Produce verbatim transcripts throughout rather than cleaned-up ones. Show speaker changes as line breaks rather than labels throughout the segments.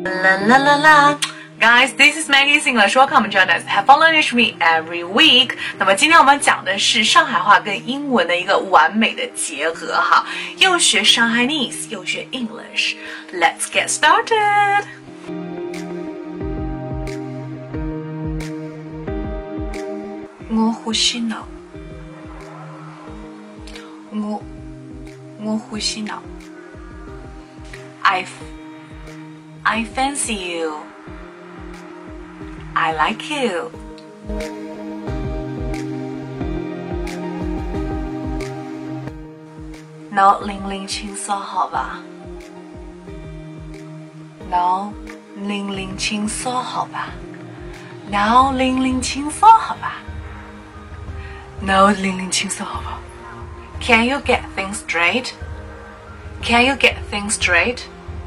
La la la la. Guys, this is Maggie's English. Welcome join us. Have fun learning with me every week. 那么今天我们讲的是上海话跟英文的一个完美的结合哈，又学 Shanghainese 又学 English. Let's get started. 我呼吸脑，我我呼吸脑。I I fancy you.I like you. 脑零零轻松好吧？脑零零轻松好吧？脑零零轻松好吧？脑零零轻松好吧 ？Can you get things straight? Can you get things straight?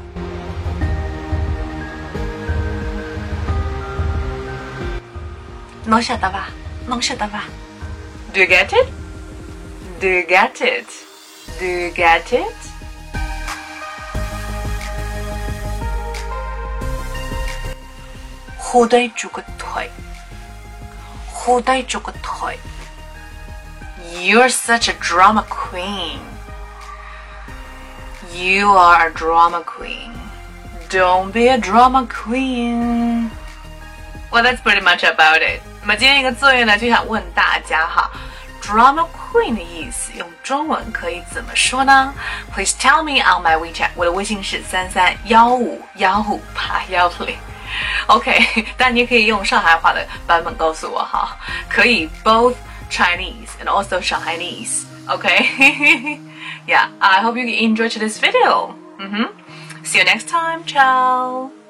侬晓得伐？侬晓得伐 ？Do you get it? Do you get it? Do you get it? 虎队猪个腿，虎队猪个腿。You're such a drama queen. You are a drama queen. Don't be a drama queen. Well, that's pretty much about it. 那么今天一个作业呢，就想问大家哈 ，drama queen 的意思用中文可以怎么说呢 ？Please tell me on my WeChat. 我的微信是三三幺五幺五八幺零。OK， 但你也可以用上海话的版本告诉我哈，可以 both Chinese and also Shanghainese. OK， Yeah, I hope you enjoyed this video. 嗯哼 ，See you next time. Ciao.